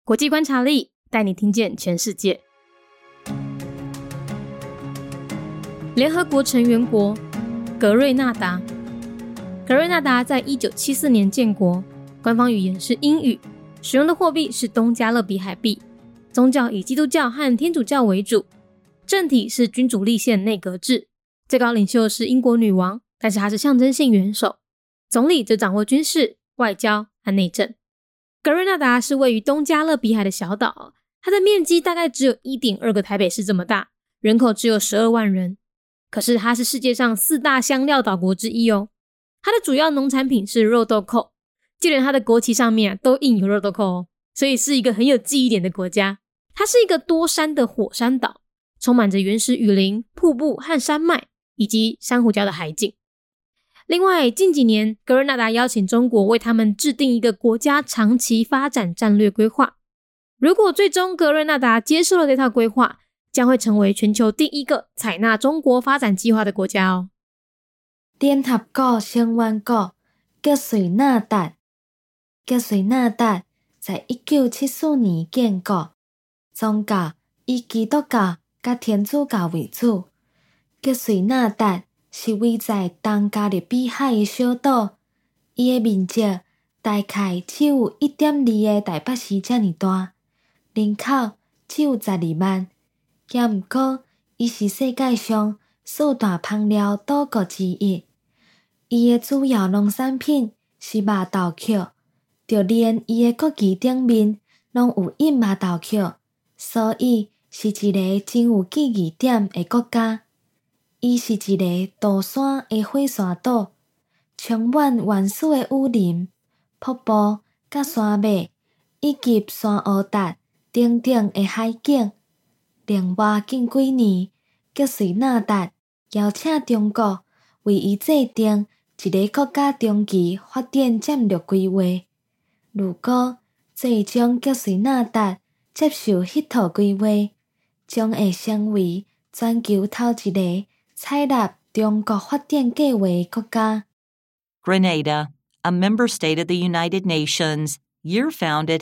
国际观察力带你听见全世界。联合国成员国格瑞纳达。格瑞纳达在1974年建国，官方语言是英语，使用的货币是东加勒比海币，宗教以基督教和天主教为主，政体是君主立宪内阁制，最高领袖是英国女王，但是她是象征性元首，总理则掌握军事、外交和内政。格瑞纳达是位于东加勒比海的小岛，它的面积大概只有 1.2 个台北市这么大，人口只有12万人。可是它是世界上4大香料岛国之一哦。它的主要农产品是肉豆蔻，就连它的国旗上面都印有肉豆蔻哦，所以是一个很有记忆点的国家。它是一个多山的火山岛，充满着原始雨林、瀑布和山脉，以及珊瑚礁的海景。另外，近几年格瑞纳达邀请中国为他们制定一个国家长期发展战略规划。如果最终格瑞纳达接受了这套规划，将会成为全球第一个采纳中国发展计划的国家哦。 联合国成员国格瑞纳达。格瑞纳达在1974年建国，宗教以基督教甲天主教为主。格瑞纳达是位在东加勒比海的小岛，伊的面积大概只有 1.2 个台北市这么大，人口只有12万。也毋过，伊是世界上4大香料岛国之一。伊的主要农产品是麻豆蔻，就连伊的国旗顶面拢有印麻豆蔻，所以是一个真有记忆点的国家。伊是一个大山的火山岛，充满原始的雨林、瀑布、甲山脉，以及山乌达等等的海景。另外，近几年，格瑞纳达邀请中国为伊制定一个国家长期发展战略规划。如果最终格瑞纳达接受迄套规划，将会成为全球头一个采纳中国发展计划的国家。 Grenada, a member state of the United Nations, year founded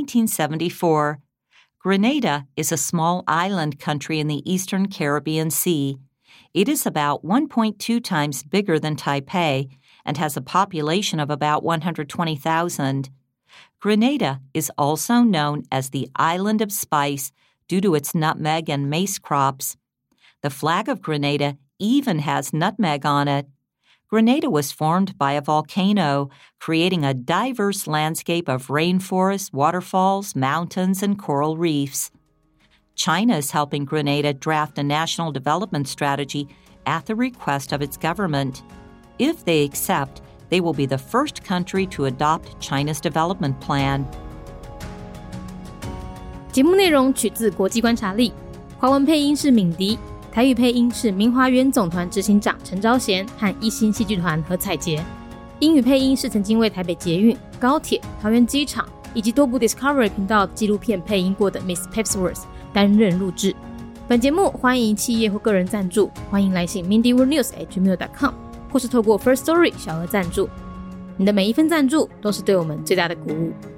1974. Grenada is a small island country in the eastern Caribbean Sea. It is about 1.2 times bigger than Taipei and has a population of about 120,000. Grenada is also known as the Island of Spice due to its nutmeg and mace crops. The flag of Grenada even has nutmeg on it. Grenada was formed by a volcano, creating a diverse landscape of rainforests, waterfalls, mountains, and coral reefs. China is helping Grenada draft a national development strategy at the request of its government. If they accept, they will be the first country to adopt China's development plan. 节目内容取自国际观察力，华文配音是敏迪，台语配音是明华园总团执行长陈昭贤和一心戏剧团何彩杰，英语配音是曾经为台北捷运、高铁、桃园机场以及多部 Discovery 频道纪录片配音过的 Miss Pepsworth 担任录制。本节目欢迎企业或个人赞助，欢迎来信 mindyworldnews@gmail.com 或是透过 First Story 小额赞助。你的每一份赞助都是对我们最大的鼓舞。